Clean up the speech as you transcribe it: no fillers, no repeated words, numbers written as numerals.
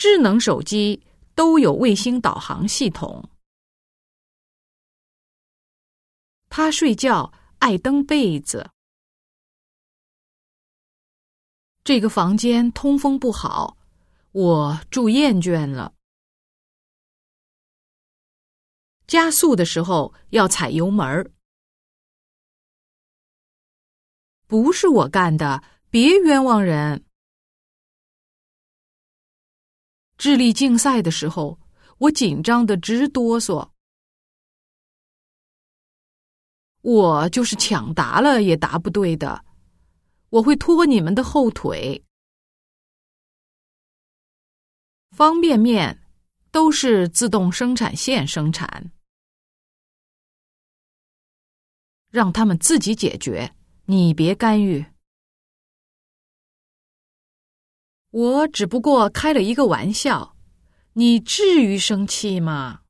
智能手机都有卫星导航系统。他睡觉爱蹬被子。这个房间通风不好，我住厌倦了。加速的时候要踩油门。不是我干的，别冤枉人。智力竞赛的时候，我紧张得直哆嗦。我就是抢答了也答不对的，我会拖你们的后腿。方便面都是自动生产线生产，让他们自己解决，你别干预。我只不过开了一个玩笑，你至于生气吗？